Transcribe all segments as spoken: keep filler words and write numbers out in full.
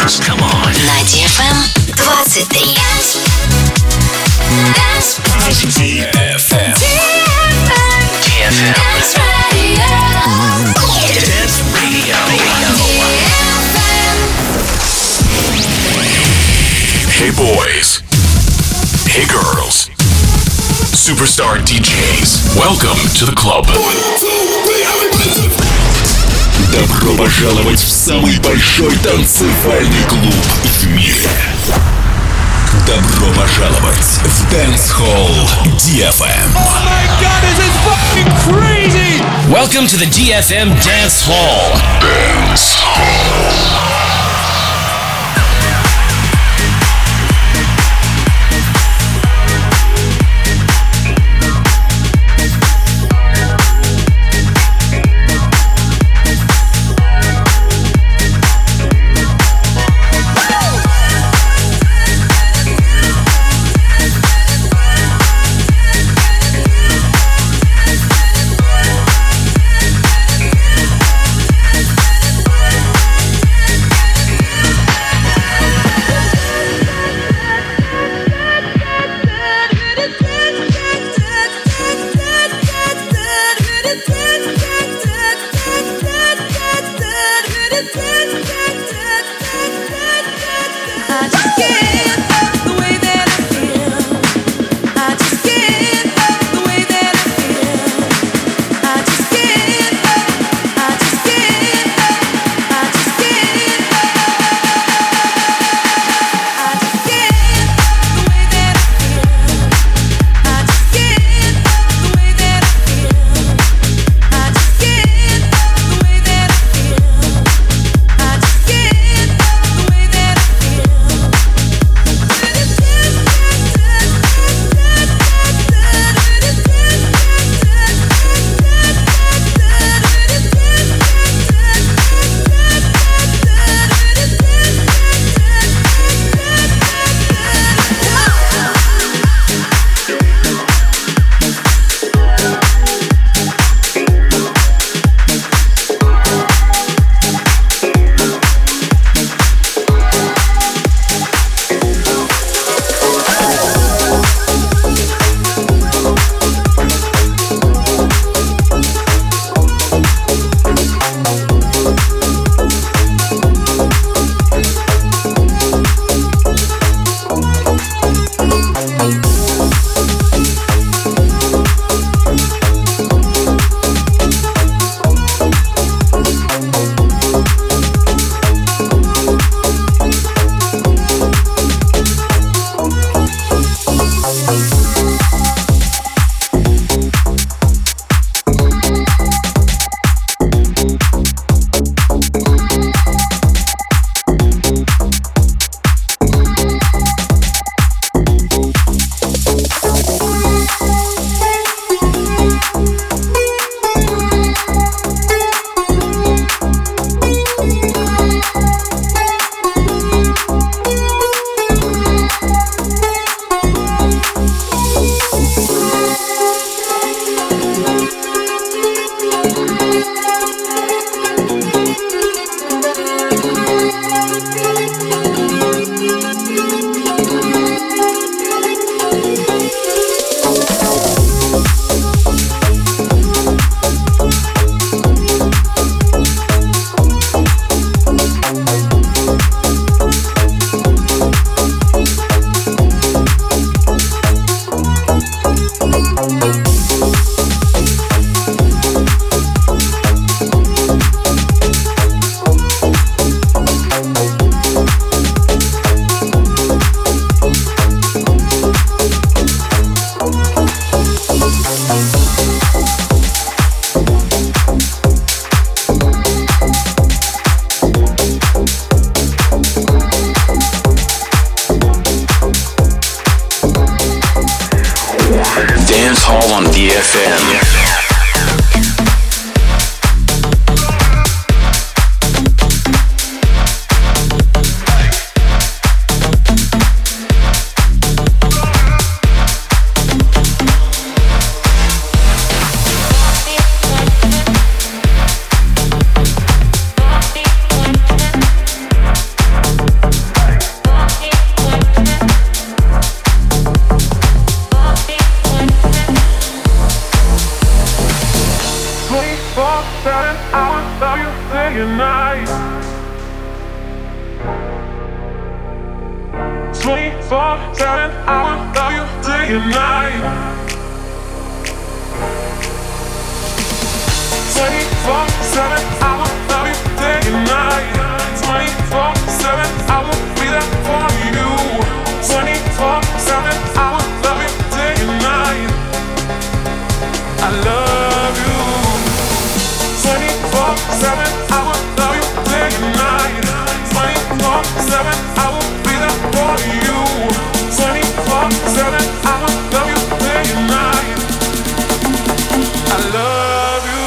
Dance. Come on. На ди эф эм двадцать три. ди эф эм. ди эф эм. Dance Radio. Dance Radio. Hey boys. Hey girls. Superstar ди джейс. Welcome to the club. Добро пожаловать в самый большой танцевальный клуб в мире. Добро пожаловать в Dance Hall ди эф эм. Oh my god, this is fucking crazy! Welcome to the ди эф эм Dance Hall. Dance Hall. I will love you day and night. twenty-four seven, I will love you day and night. twenty-four seven, I will love you day and night. twenty-four seven, I will be there for you. twenty-four seven, I will love you day and night. I love you. twenty-four seven, I will love you day and night. twenty-four seven, I will be there for you. twenty-four seven, I will love you day and night. I love you.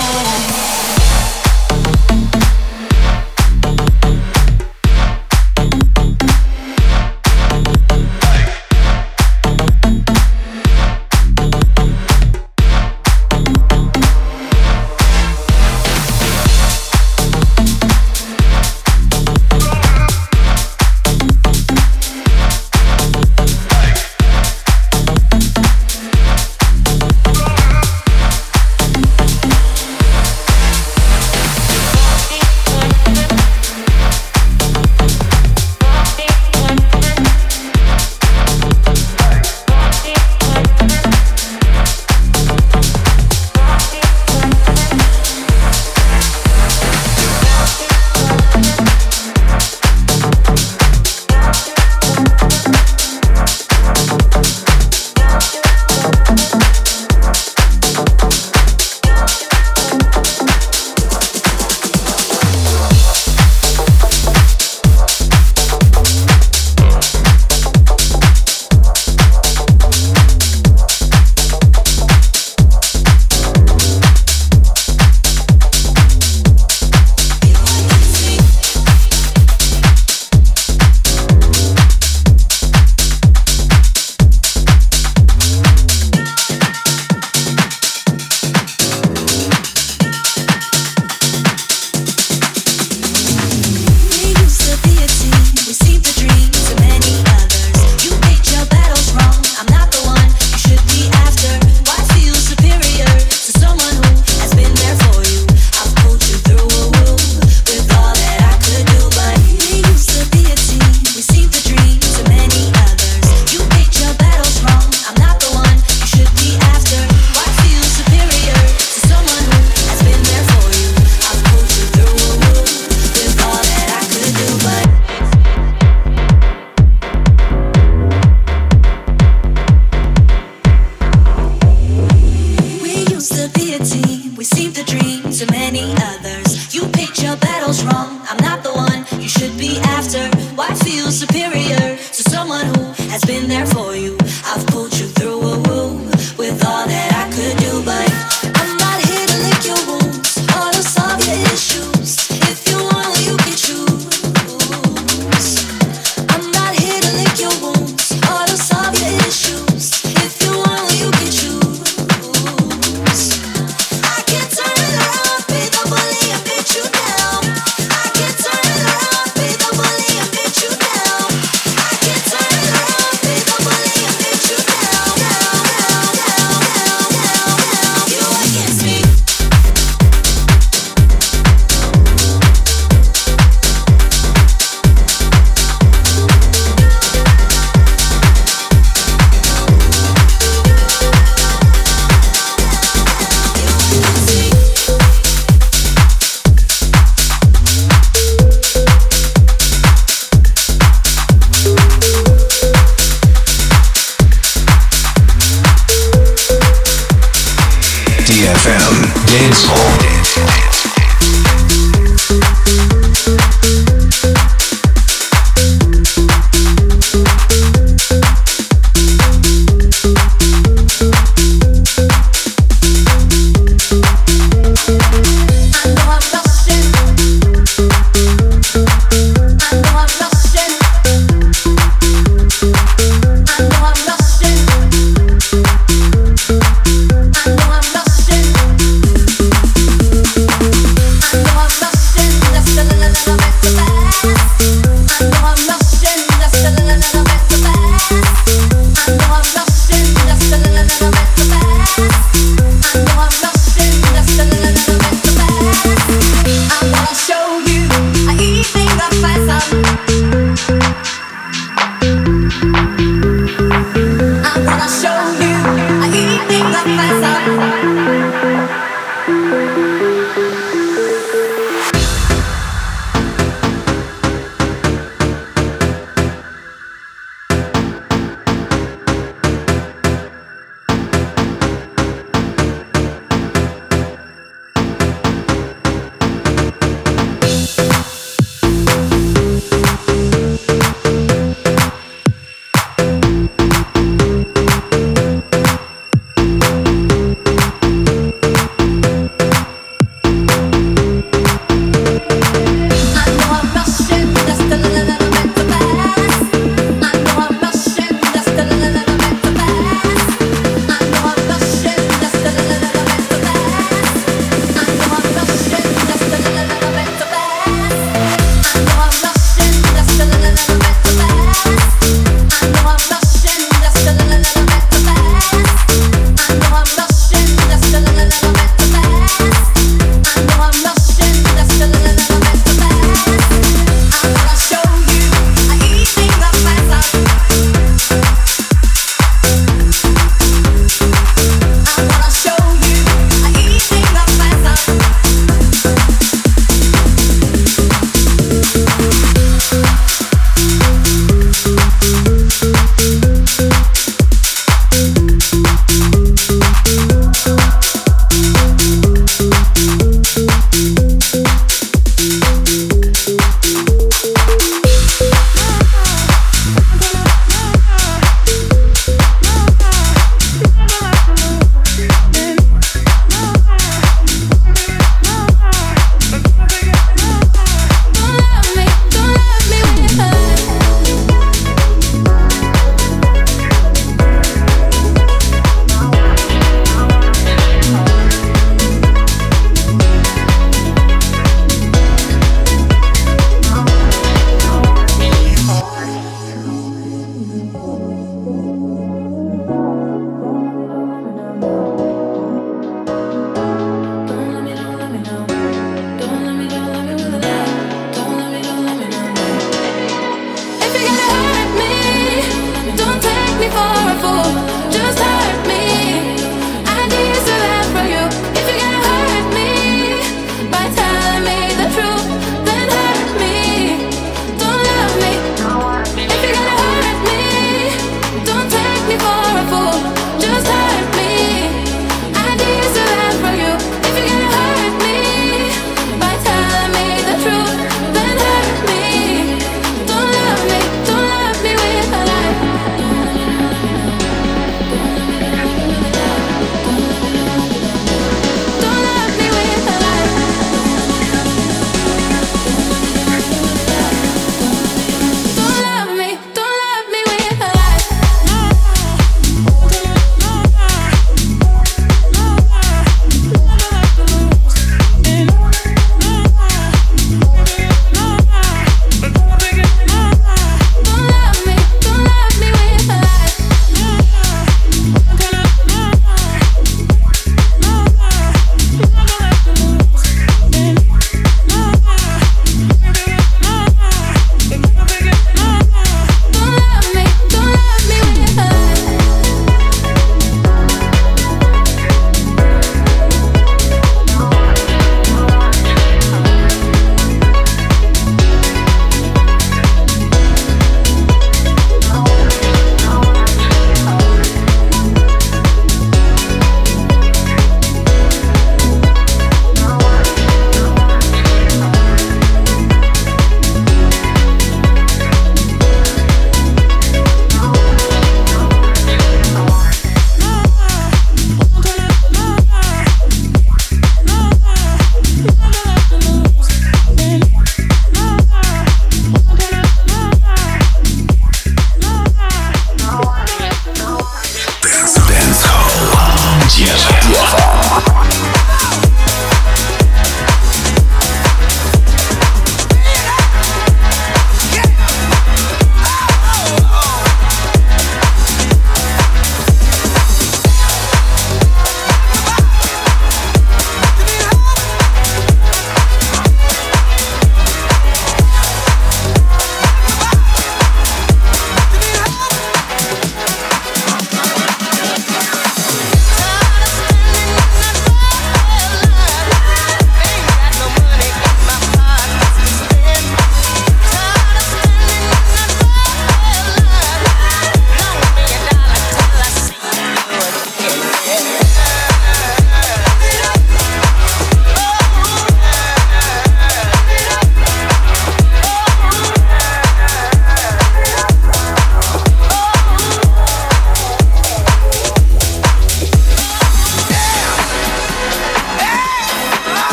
I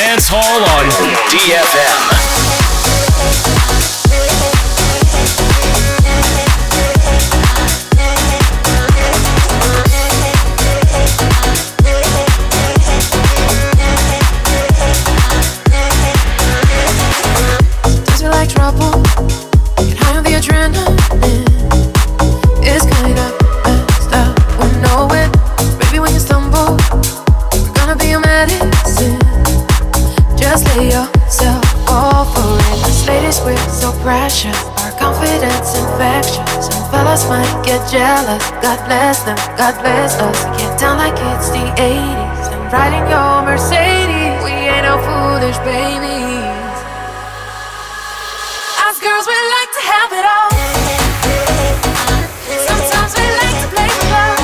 Dance Hall on D F M. Jealous, God bless them, God bless us. Get down like it's the eighties and riding your Mercedes. We ain't no foolish babies. Us girls, we like to have it all. Sometimes we like to play with love.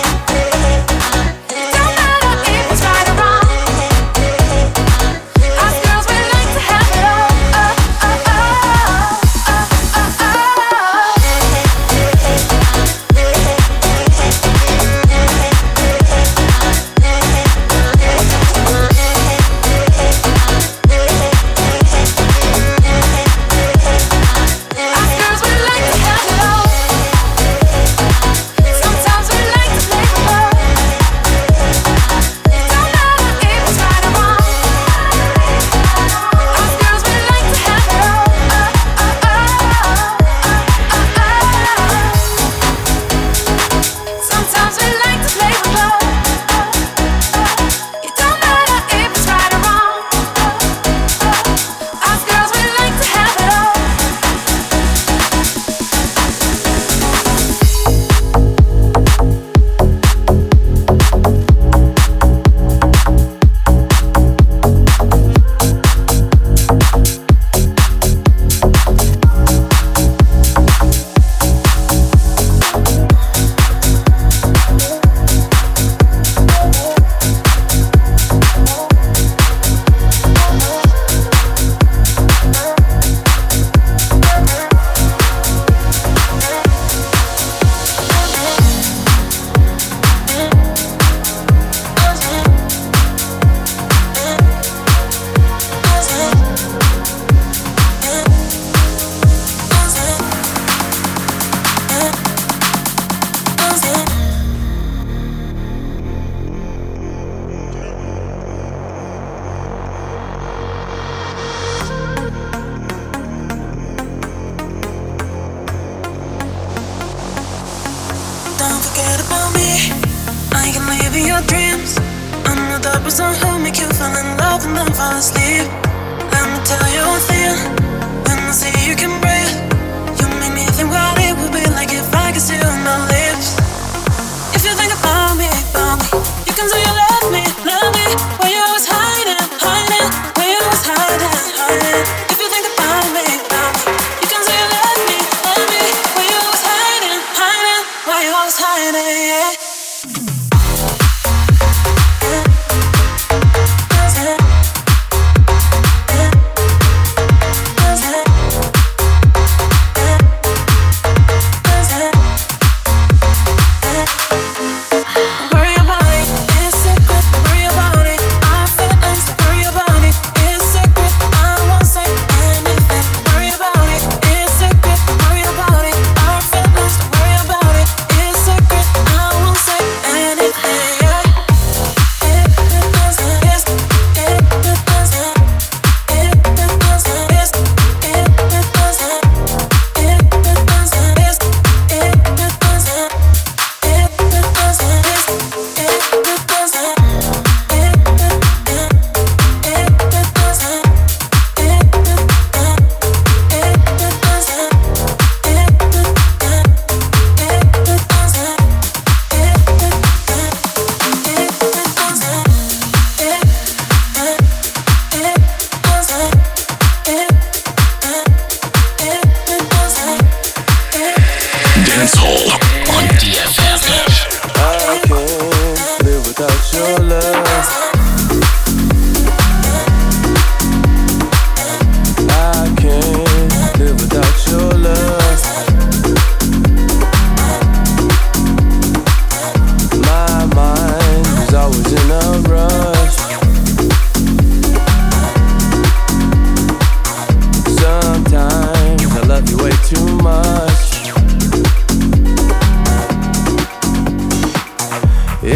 It don't matter if it's right or wrong. Us girls, we like to have it all. Oh, oh, oh, oh, oh, oh, oh.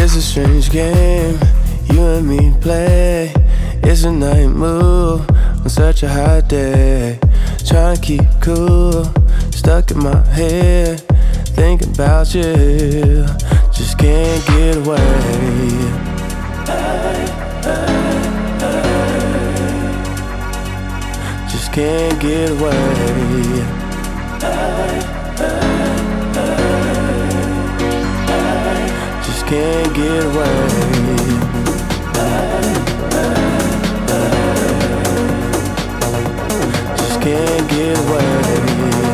It's a strange game you and me play. It's a night move on such a hot day. Trying to keep cool, stuck in my head, thinking about you, just can't get away. Just can't get away. Just can't get away. Just can't get away.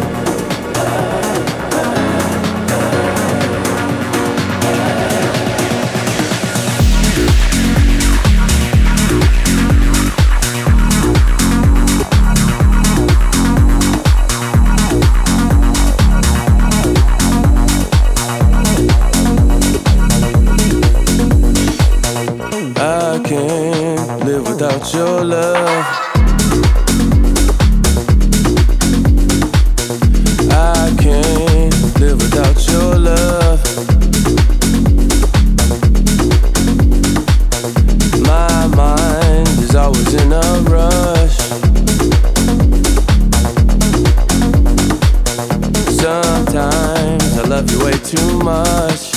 I can't live without your love. I can't live without your love. My mind is always in a rush. Sometimes I love you way too much.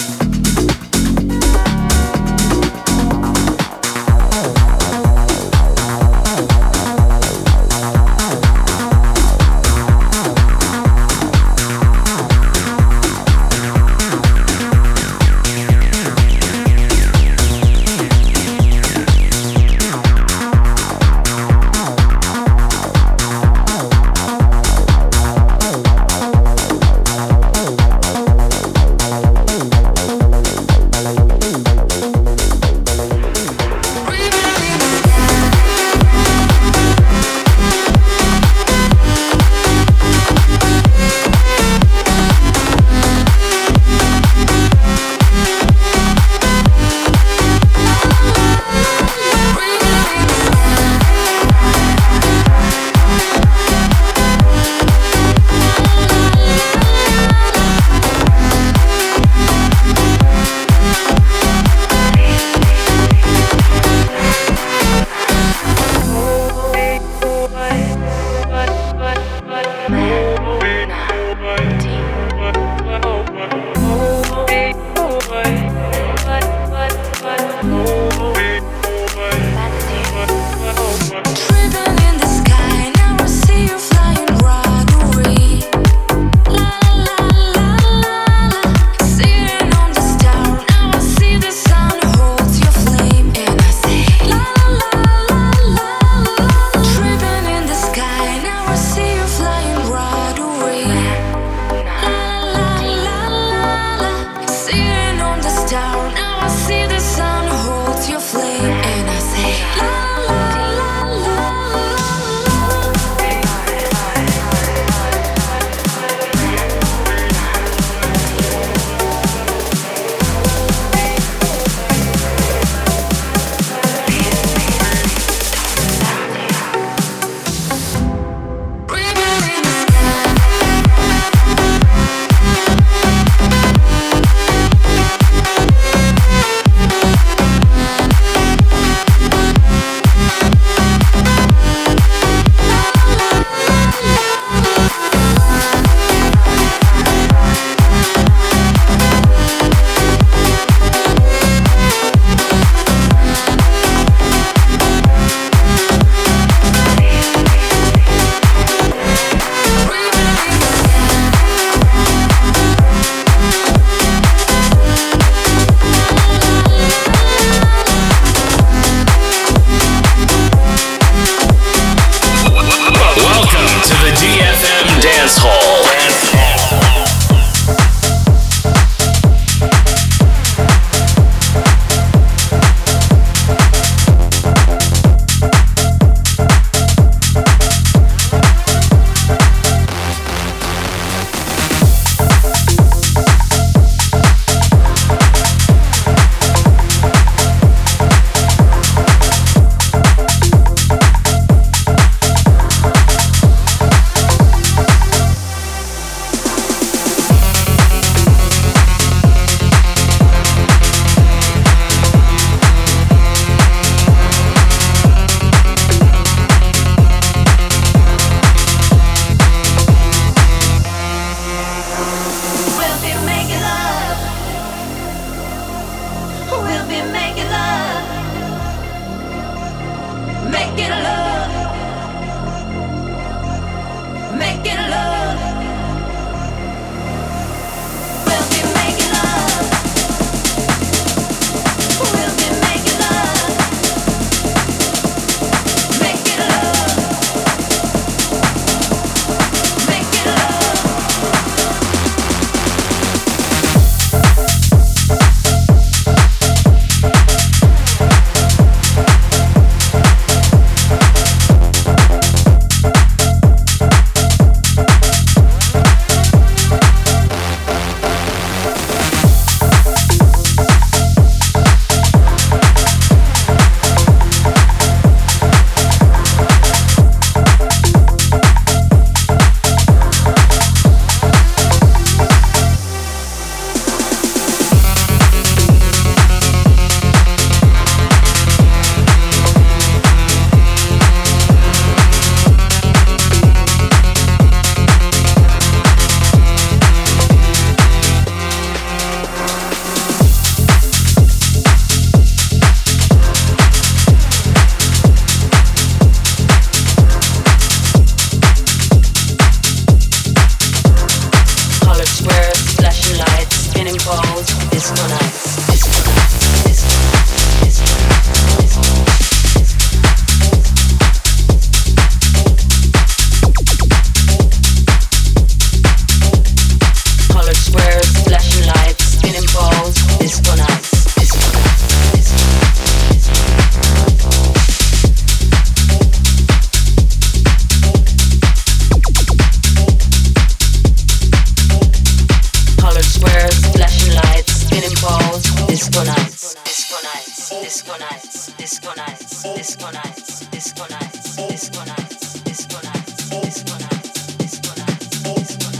disco nights, disco nights, disco nights, disco nights, disco nights, disco nights, disco nights, disco nights, disco nights, disco nights, disco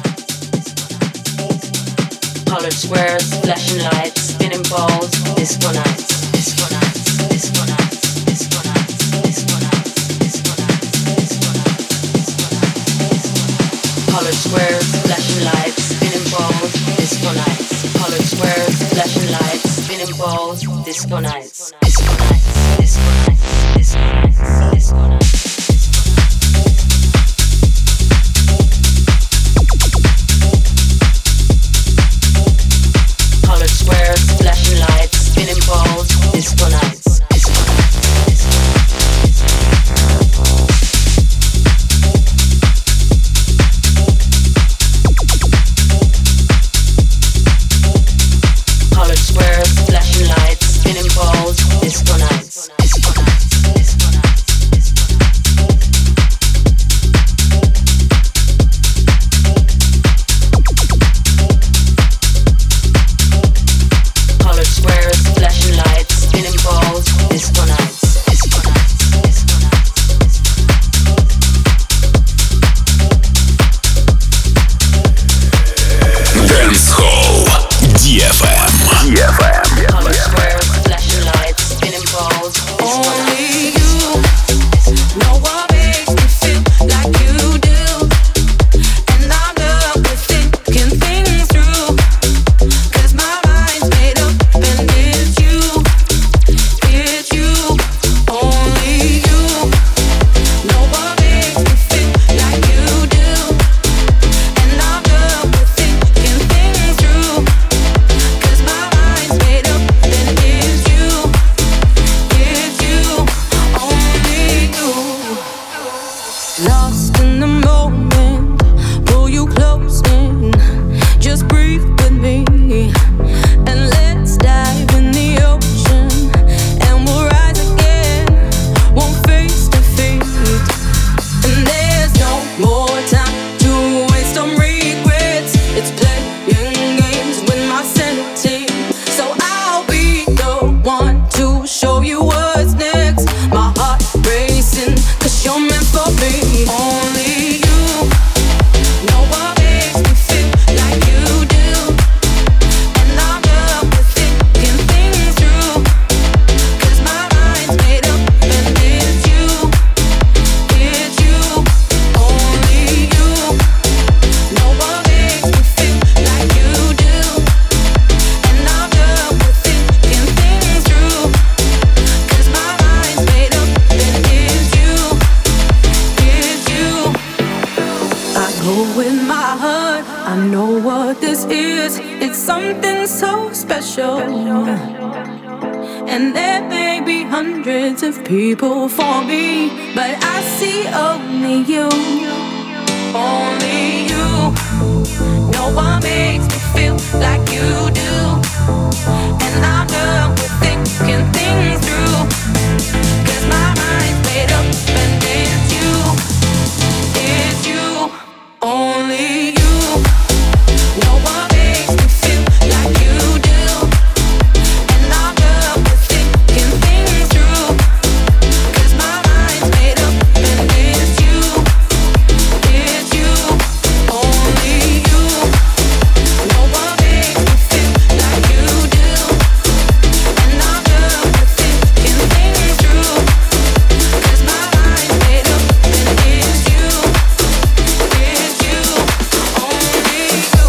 nights. Colored squares, flashing lights, spinning balls, disco nights, disco nights, disco nights, disco nights, disco nights, disco nights, disco nights. Colored squares, flashing lights, spinning balls, disco nights. Colored squares, flashing lights, spinning balls, disco nights, disco nights, disco nights, disco nights, disco nights. Colored squares, flashing lights, spinning balls, disco nights, disco nights, disco Colored squares, flashing lights, spinning balls, disco nights, disco nights, disco nights, disco nights. Colored squares, flashing lights, spinning balls, disco nights, disco nights, disco nights. Dance Hall ди эф эм. ди эф эм. Colored squares, flashing lights, spinning balls, disco nights. No one makes me feel like you do, and I'm done with thinking things through. 'Cause my mind's made up, and it's you, it's you, only you. No one makes me feel like you do, and I'm done with thinking things through. 'Cause my mind's made up, and it's you, it's you, only you. Lost in the moment, pull you close in. Just breathe with me, and let's dive in the ocean, and we'll rise again, one face to face. And there's no more time to waste on regrets. It's playing games with my sanity, so I'll be the one to show you what's next. My heart racing, 'cause you're meant for me. Only you. No one makes me feel like you do, and I'm done with thinking things through. 'Cause my mind's made up, and it's you, it's you, only you. No one makes me feel like you do, and I'm done with thinking things through. 'Cause my mind's made up, and it's you, it's you. I go with my heart, I know what this is. It's something so special. And there may be hundreds of people for me, but I see only you, only you. No one makes me feel like you do, and I'm done with thinking things through. 'Cause my mind's made up, and it's you, it's you, only you. No one makes me feel like you do, and I'm done with thinking things through. 'Cause my mind's made up, and it's you, it's you, only you. No one makes me feel like you do, and I'm done with thinking things through. 'Cause my mind's made up, and it's you, it's you, only you.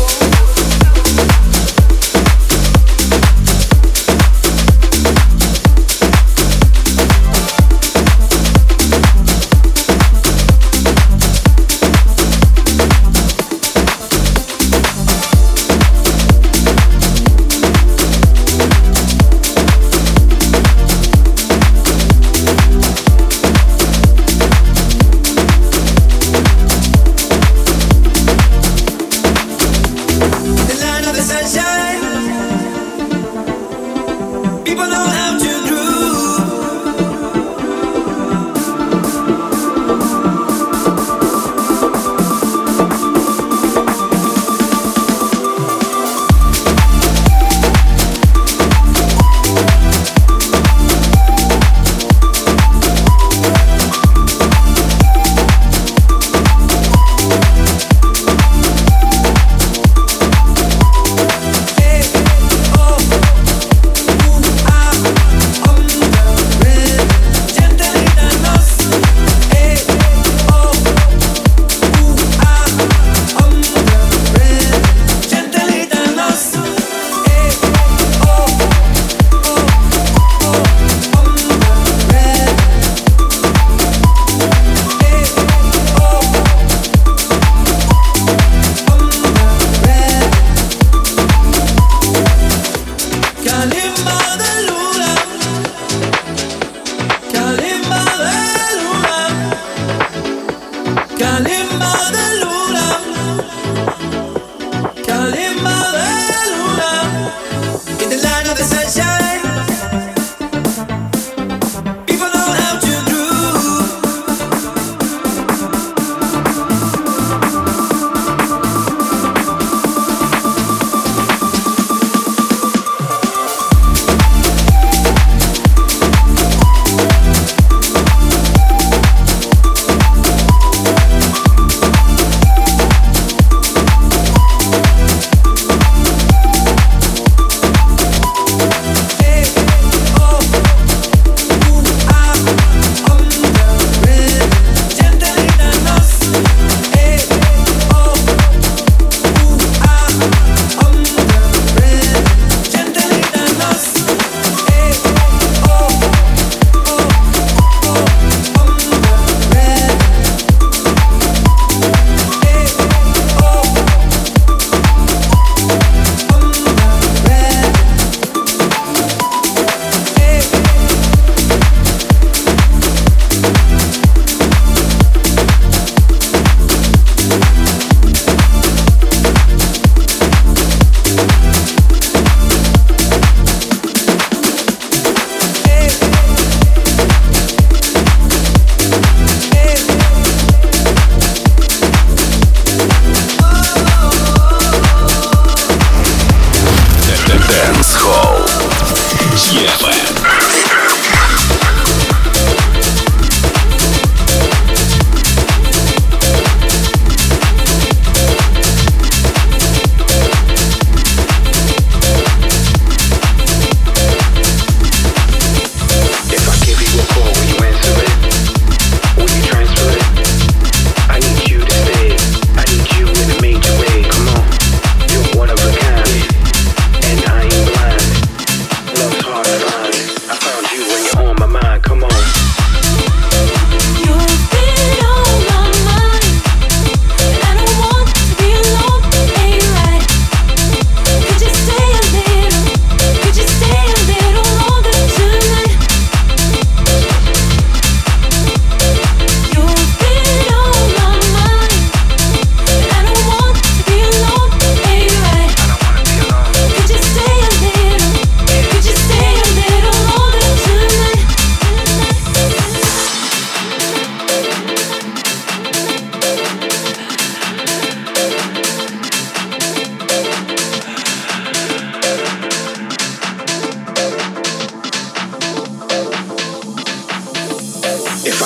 The land of the sunshine. People know how to groove.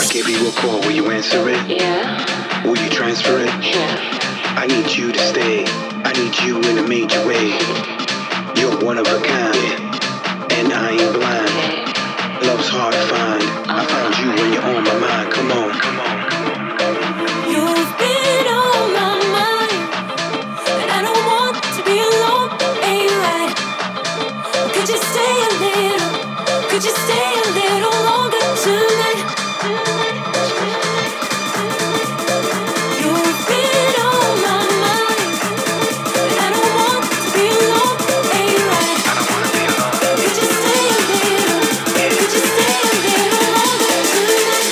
I give you a call, will you answer it? Yeah. Will you transfer it? Yeah. I need you to stay. I need you in a major way. You're one of a kind, and I ain't blind. Love's hard to find. I found you when you're on my mind. Come on, come on, come on, come on. You've been on my mind, and I don't want to be alone. Ain't right. Could you stay a little? Could you stay a little longer tonight? You've been on my mind, and I don't want to be alone. Ain't right. I don't wanna be alone. Could you stay a little? Could you stay a little longer tonight?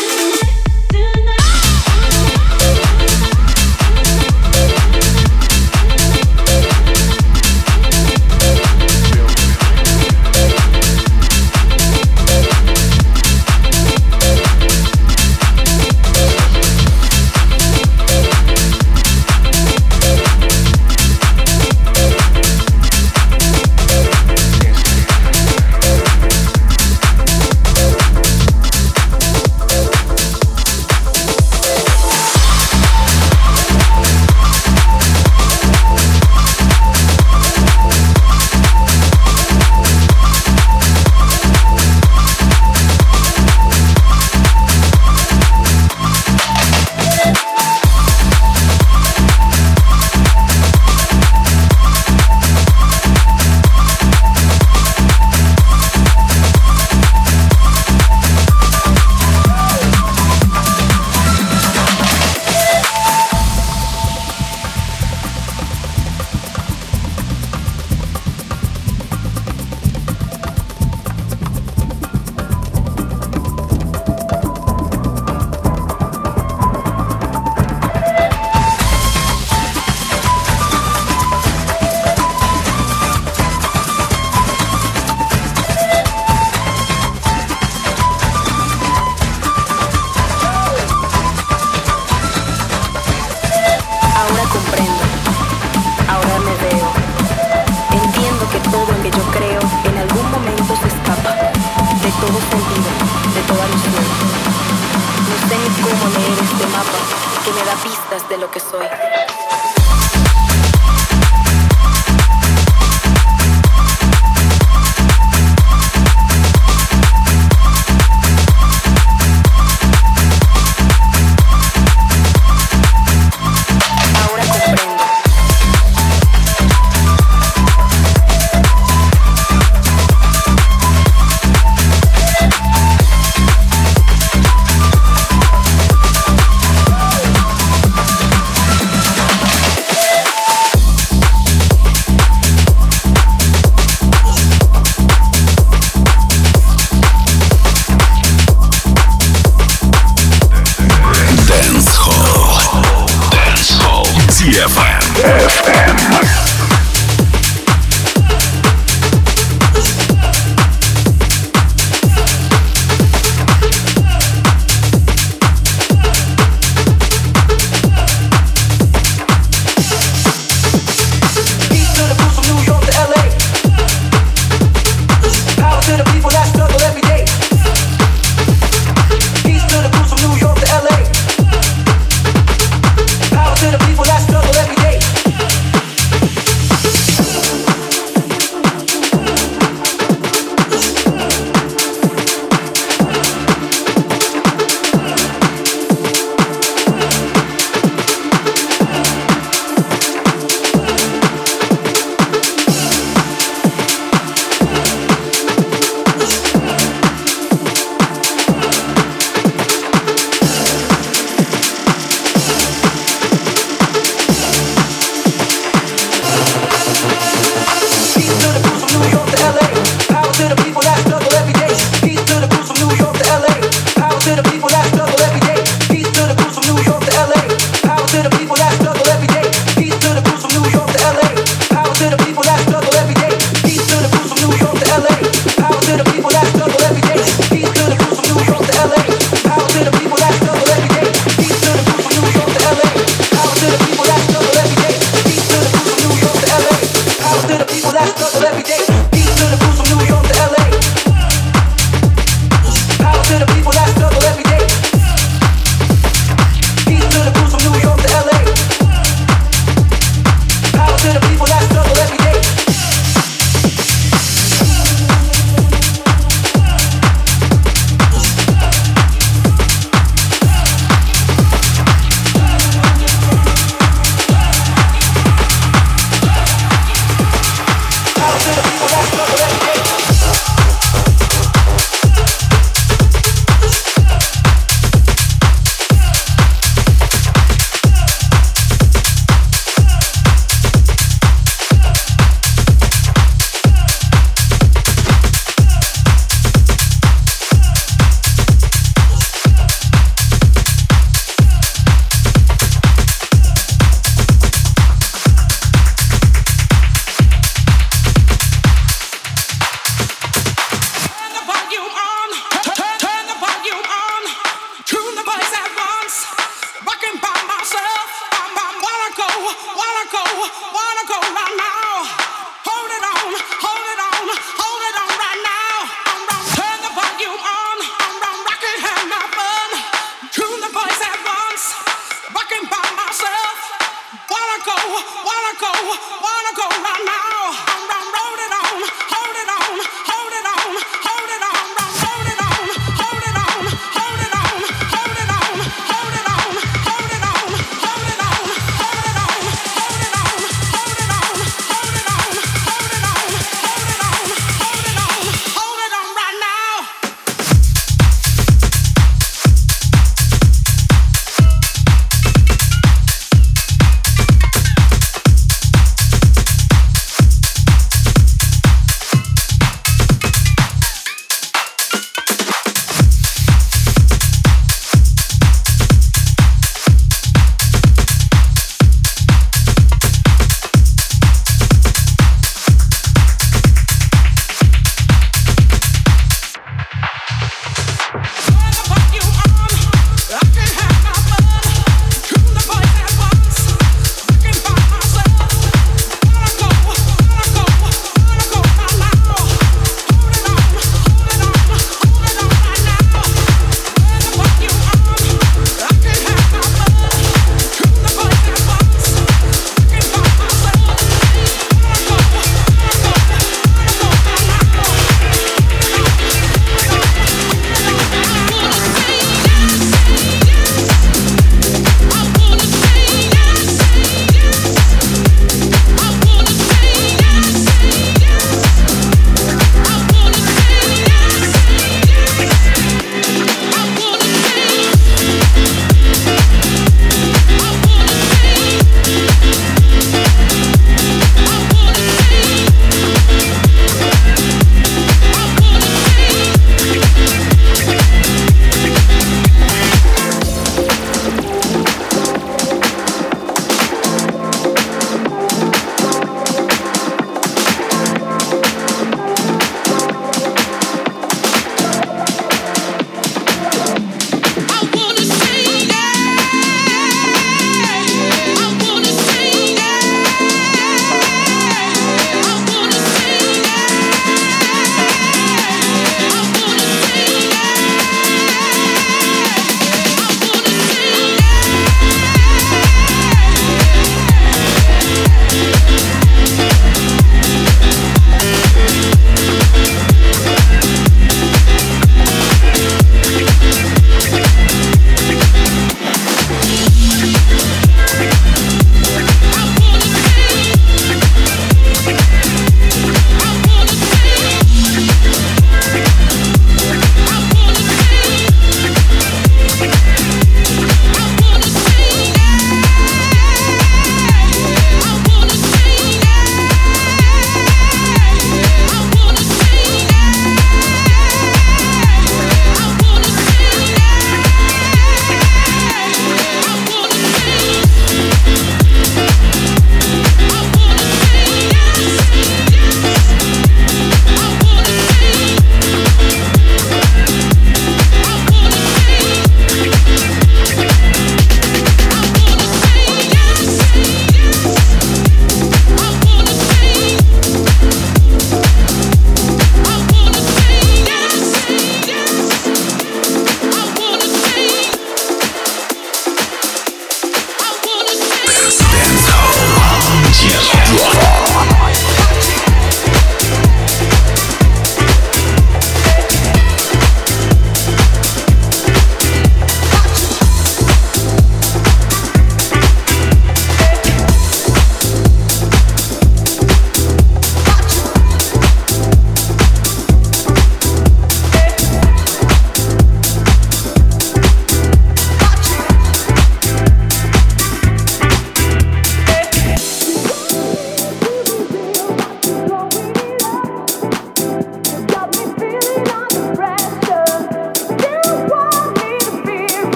De lo que soy. Tonight.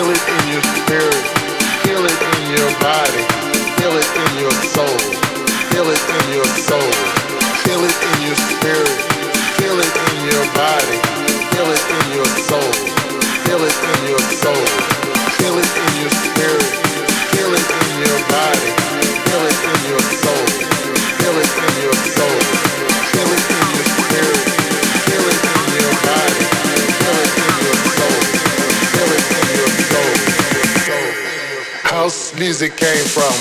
Feel it in your spirit. Feel it in your body. Feel it in your soul. Feel it in your soul. Feel it in your spirit. Feel it in your body. Feel it in your soul. Feel it in your soul. Feel it in your spirit. Feel it in your body. Feel it in your soul. Feel it in your soul. Feel it in your spirit. Feel it in your body. Feel it in your soul. Feel it in your soul. House music came from.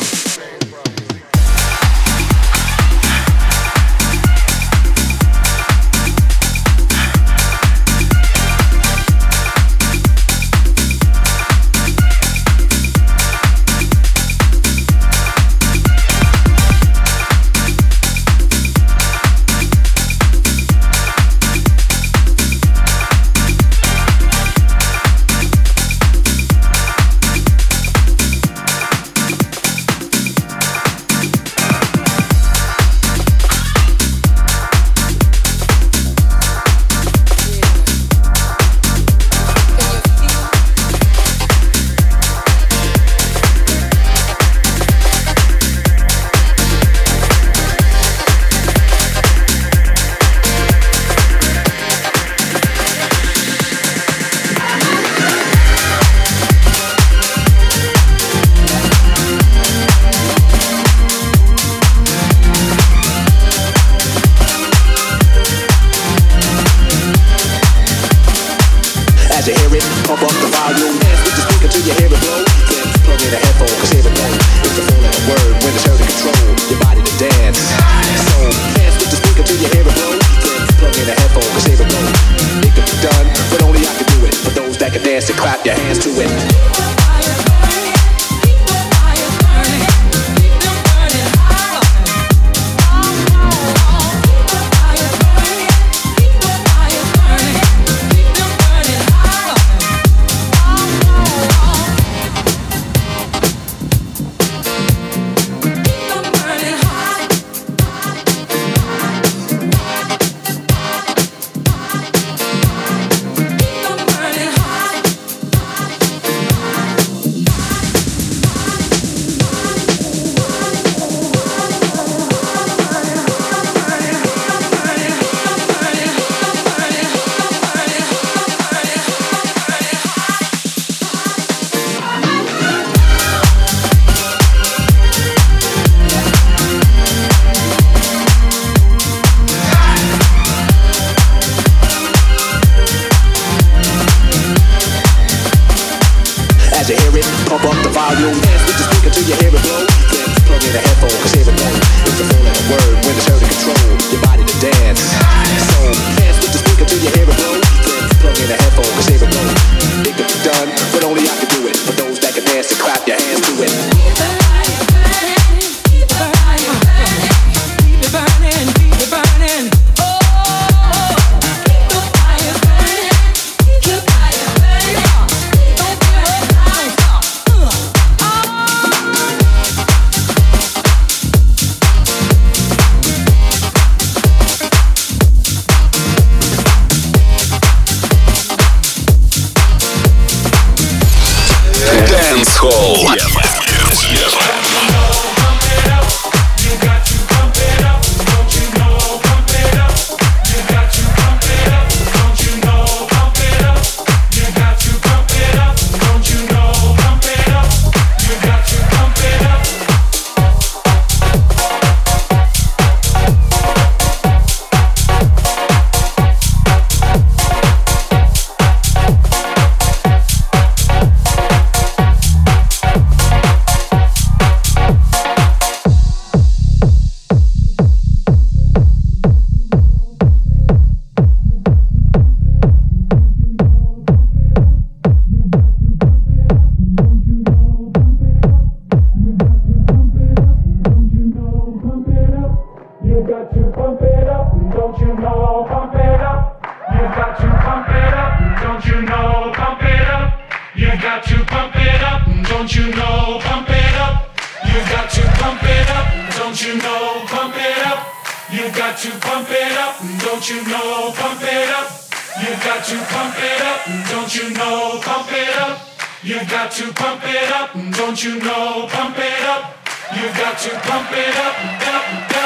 You've got to pump it up, don't you know? Pump it up. You've got to pump it up, up, up.